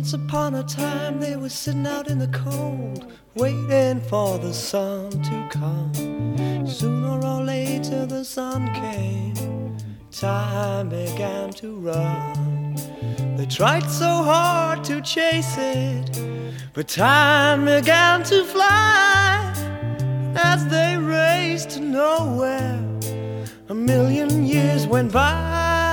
Once upon a time they were sitting out in the cold, waiting for the sun to come. Sooner or later the sun came, time began to run. They tried so hard to chase it, but time began to fly. As they raced to nowhere, a million years went by.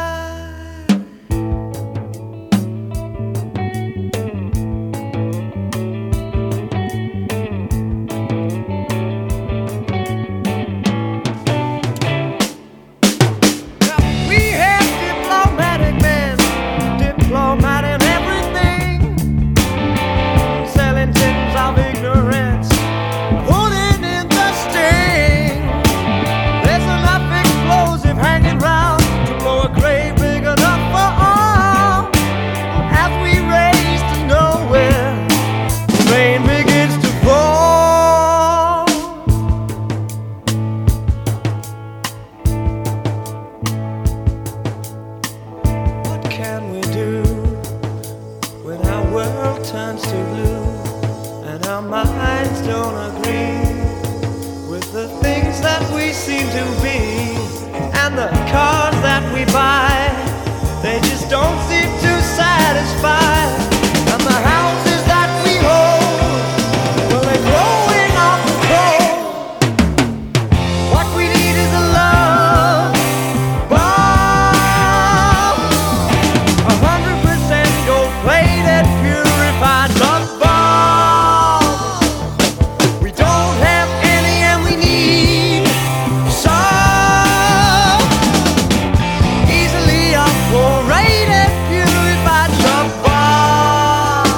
Turns to blue, and our minds don't agree with the things that we seem to be, and the cars that we buy, they just don't seem to satisfy. And the houses that we hold, well, they're growing off the cold. What we need is a love bomb, 100% gold-plated, purified love bomb. We don't have any and we need some. Easily operated, purified love bomb.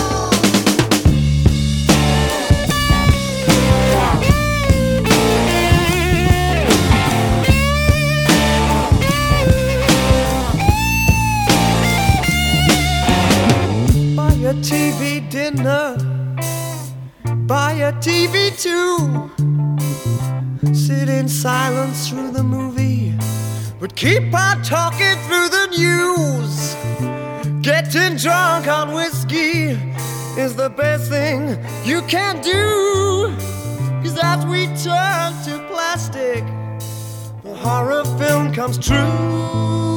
Buy a TV dinner, buy a TV too. Sit in silence through the movie, but keep on talking through the news. Getting drunk on whiskey is the best thing you can do. 'Cause as we turn to plastic, the horror film comes true.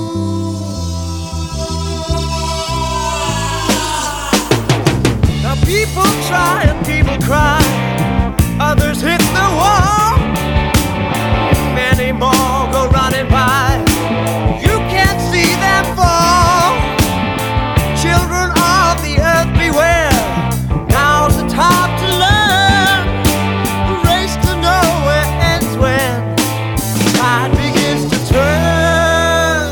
Now people try and people cry, others hit the wall. Many more go running by, you can't see them fall. Children of the earth beware, now's the time to learn. The race to nowhere ends when the tide begins to turn.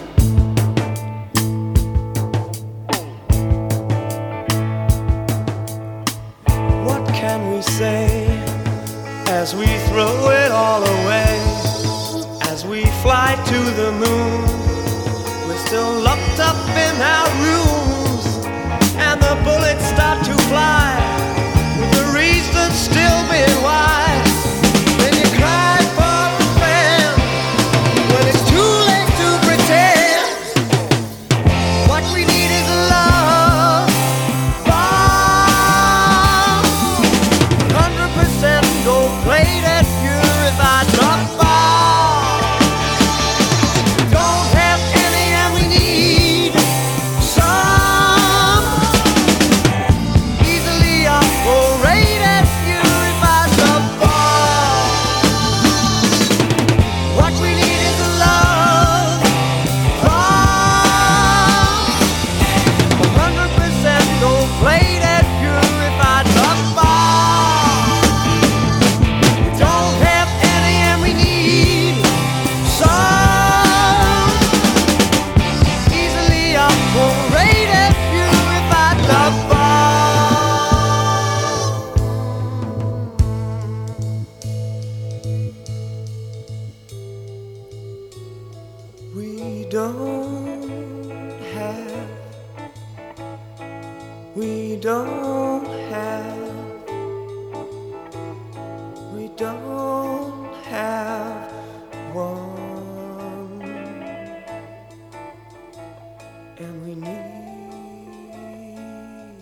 What can we say as we throw it all away? As we fly to the moon, we're still locked up in our rooms, and the bullets start to fly, with the reason still being why. Then you cry for a friend when it's too late to pretend. What we need is a love bomb, 100% gold-plated, purified love bomb. Don't have any and we need some. Easily operated, purified love bomb. What we need is a love bomb, 100% gold-plated, purified love bomb. We don't have any and we need some. Easily operated, purified love bomb. We don't have, we don't have, we don't have one, and we need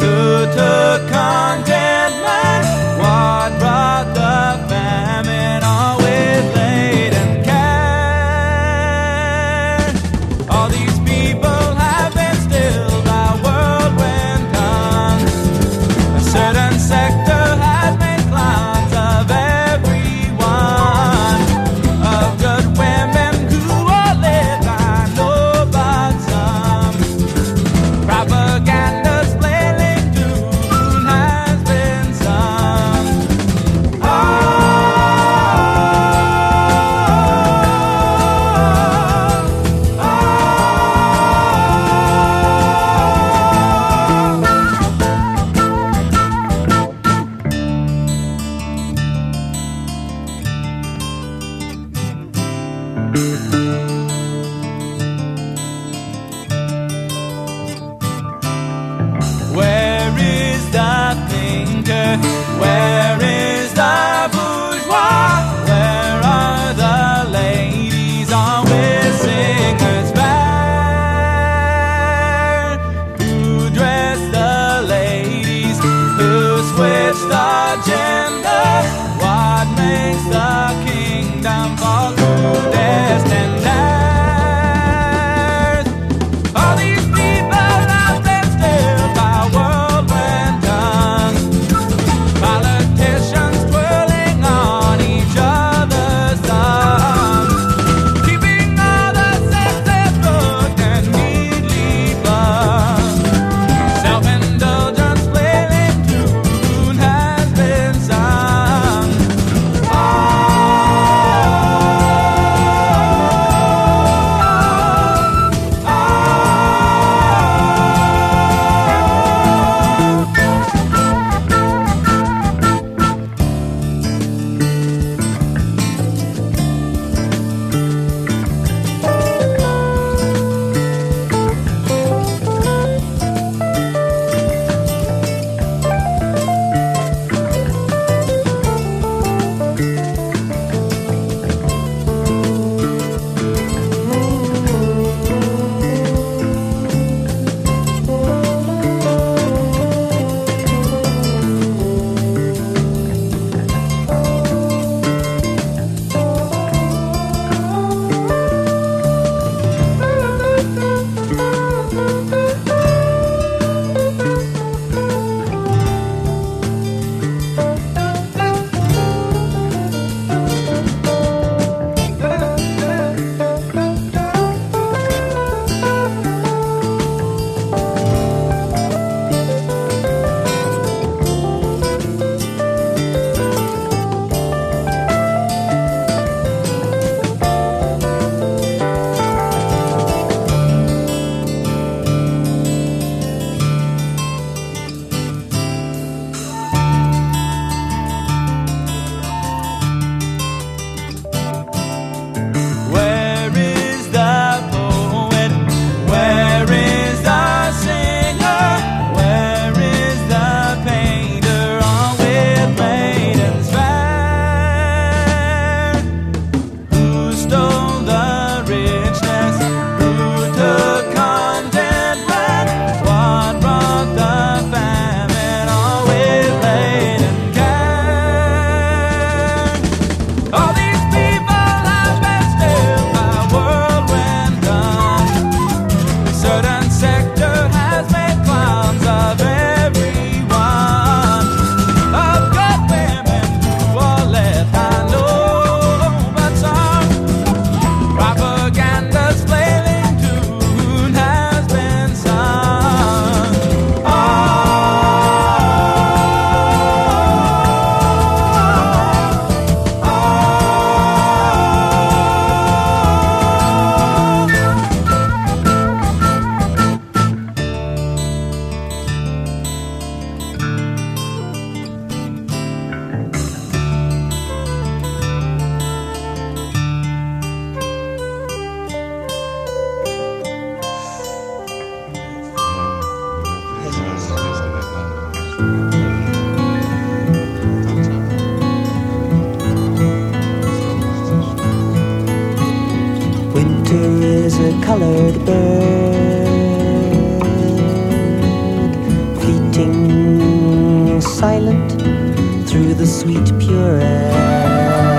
who took contentment? What brought the famine? Always late and care. All these people have been stilled by whirlwind tongues. A certain sector has made clowns of everyone. Of good women who are lived, I know but some. Propaganda's flailing tune has been sung. Where is the thinker? Where is the bourgeois? Where are the ladies always singers fair? Who dress the ladies? Who switch the gender? What makes the kingdom fall to destined heirs? All these people have been stilled by whirlwind tongues. Politicians twirling on each other's thumbs, keeping all the senses booked and neatly plugged. Self-indulgence flailing tune has been sung. Where is the poet? Where is the singer? Where is the painter? Always maidens fair. Who stole the richness? Who took contentment? What brought the famine? Always late and care. All these people have been stilled by whirlwind tongues. A certain sector has made clowns of everyone. Of good women who are left, I know but some. Propaganda's flailing tune has been sung. Winter is a colored bird, fleeting the sweet pure air.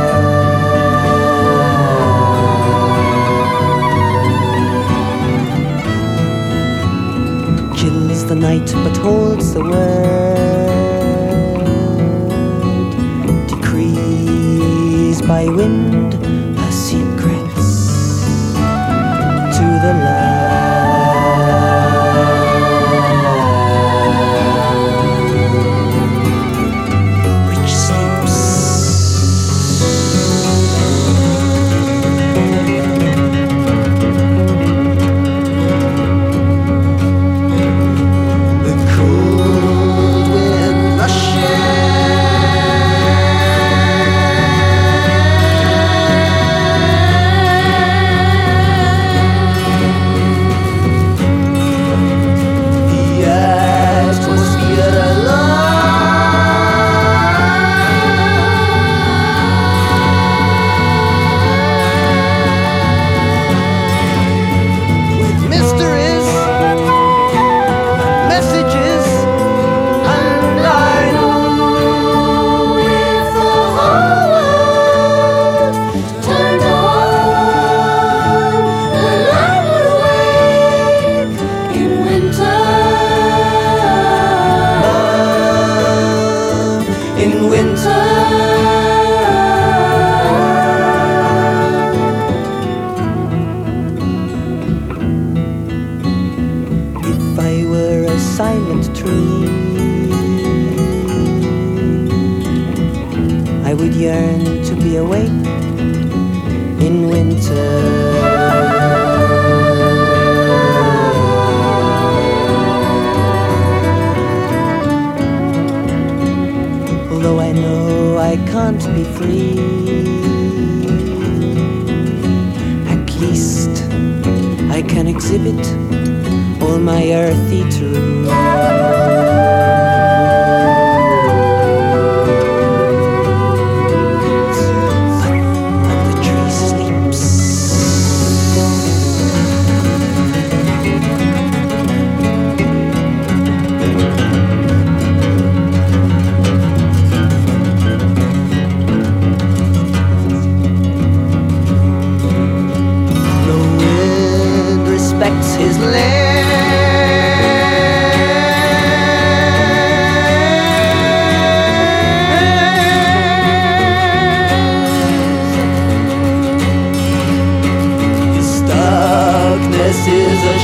Chills the night but holds the word. Decrees by wind her secrets to the land. Rich sleeps. The cold wind yearn to be awake in winter. Although I know I can't be free, at least I can exhibit all my earthy truths. His land, his darkness is a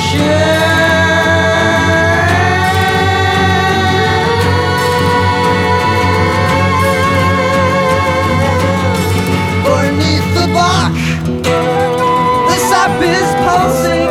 shame. Beneath the bark, the sap is pulsing.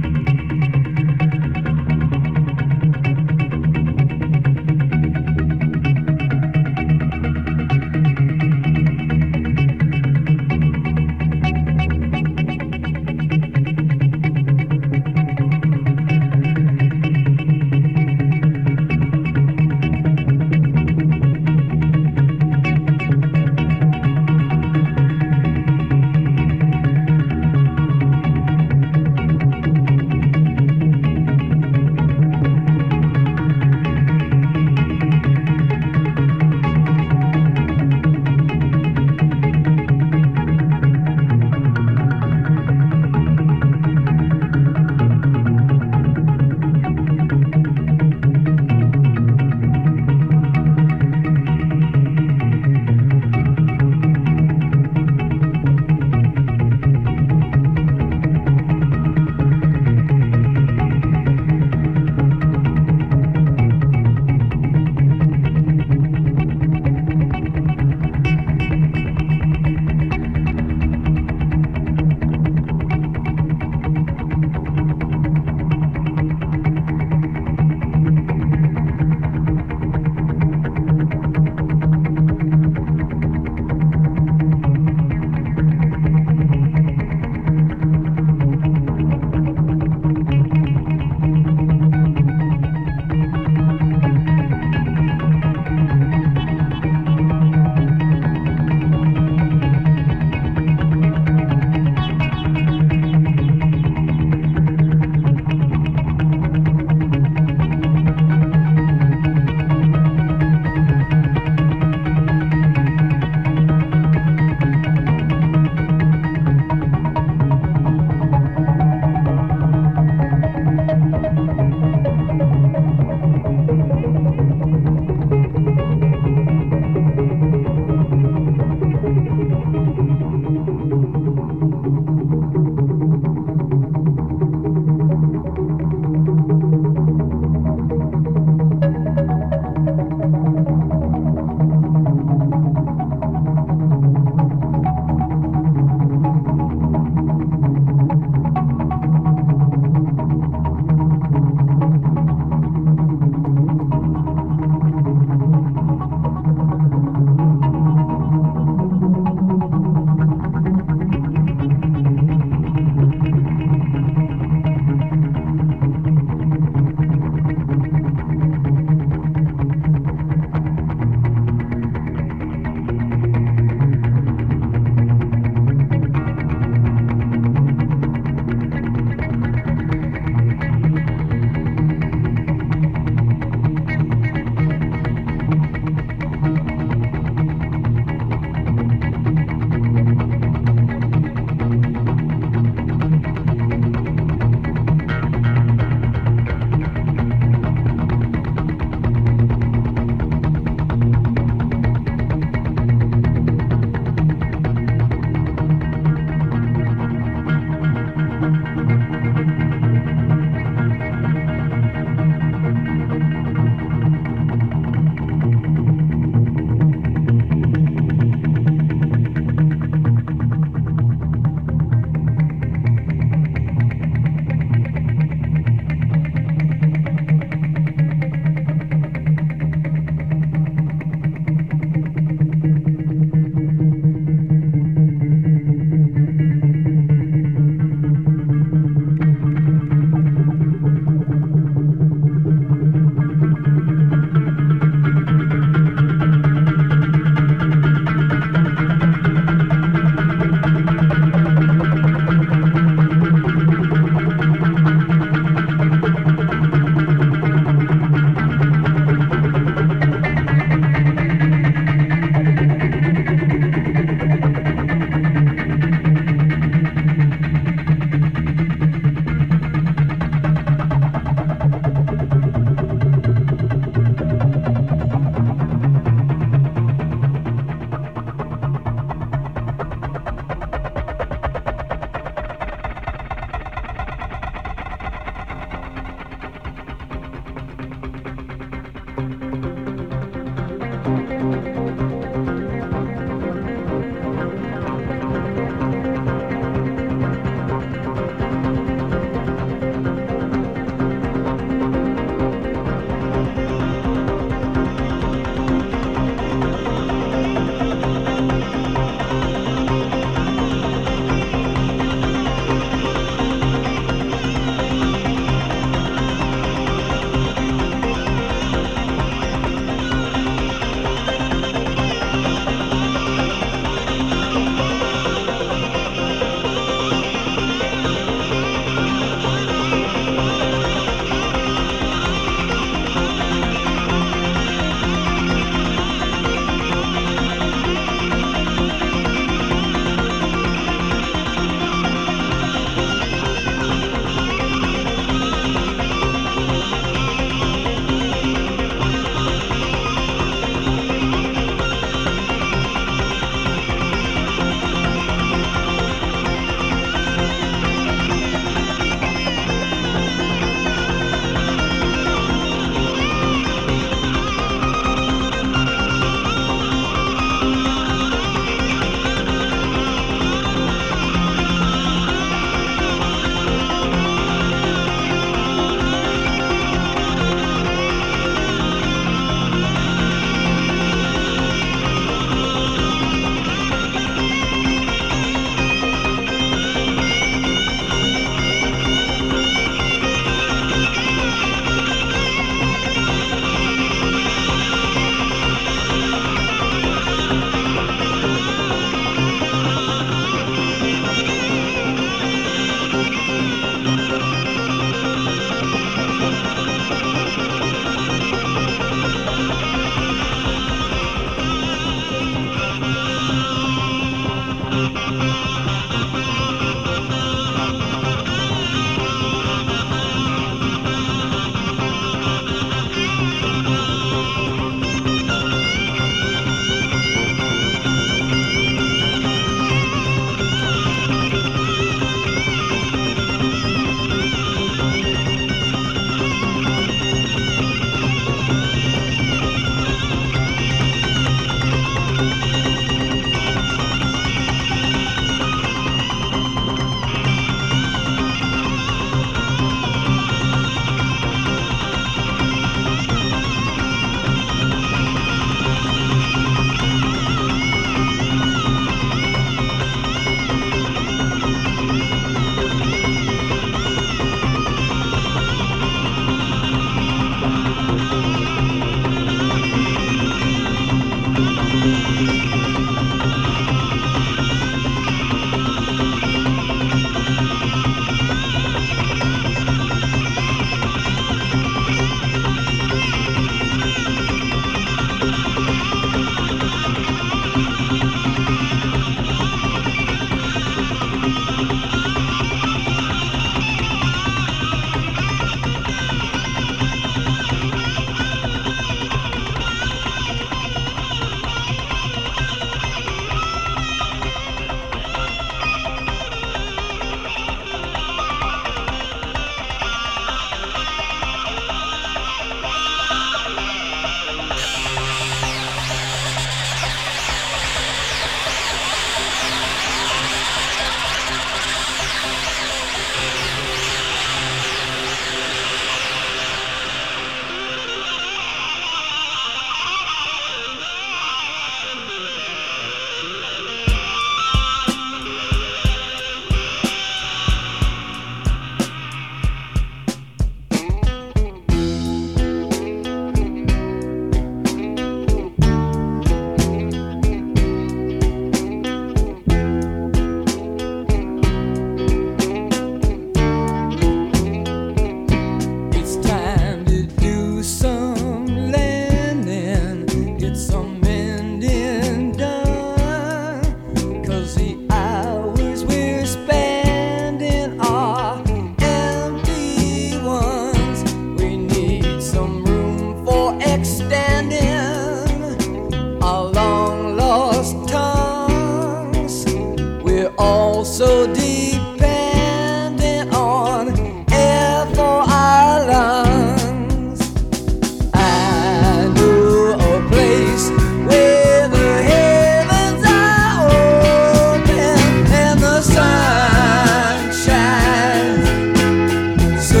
also dependent on air for our lungs. I know a place where the heavens are open and the sun shines so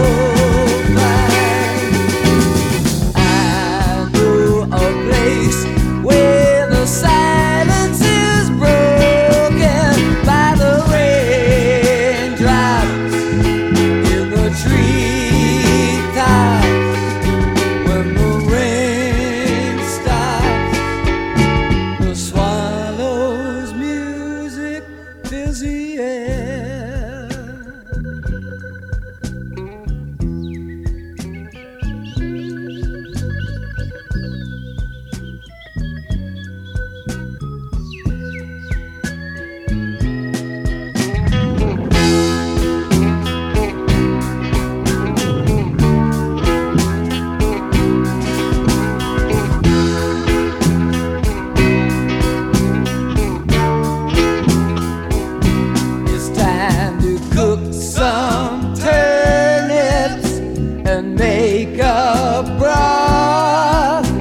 bright. I know a place where the silence is broken by the raindrops in the treetops. When the rain stops, the swallows' music fills the air. It's time to cook some turnips and make a broth.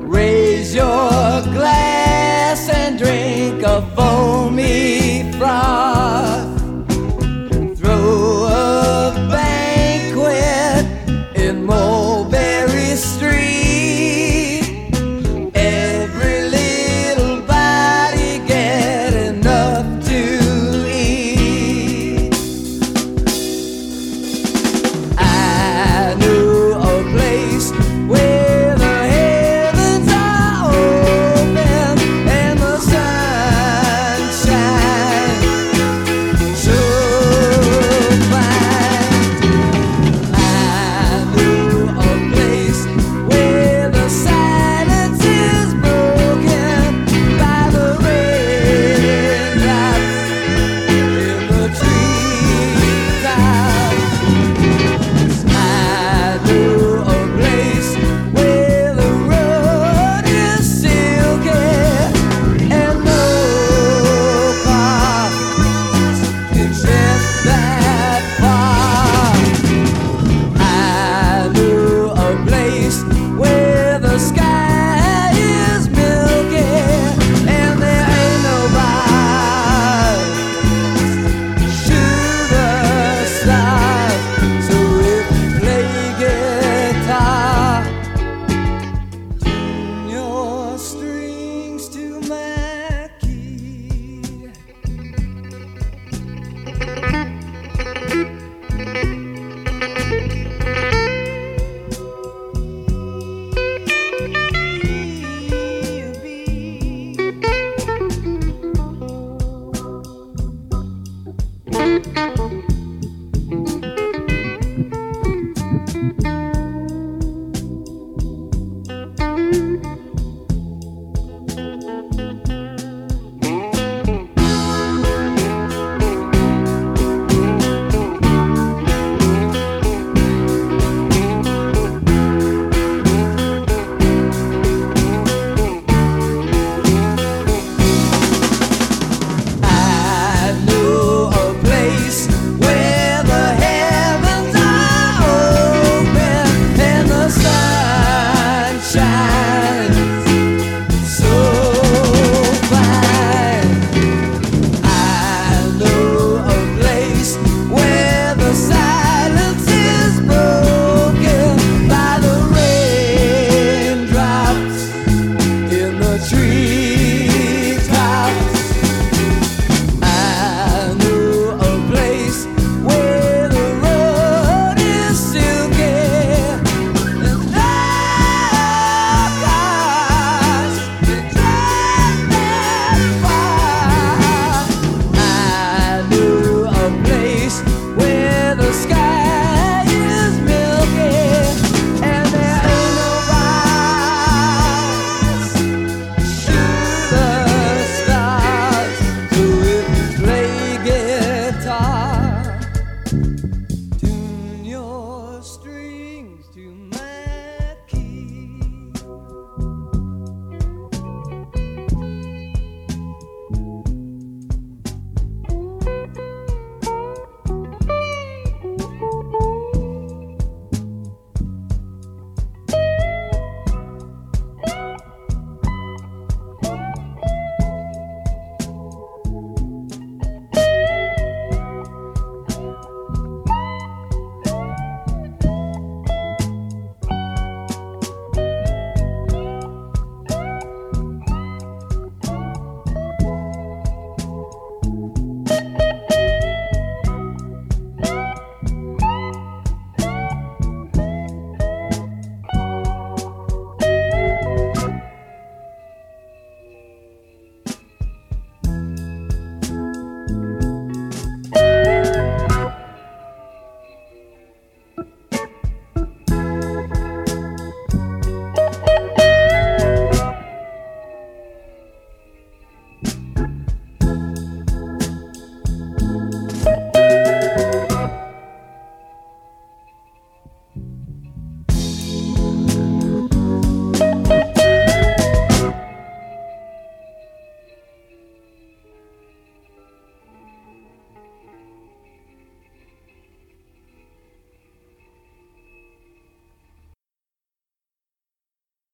Raise your glass and drink a foamy froth.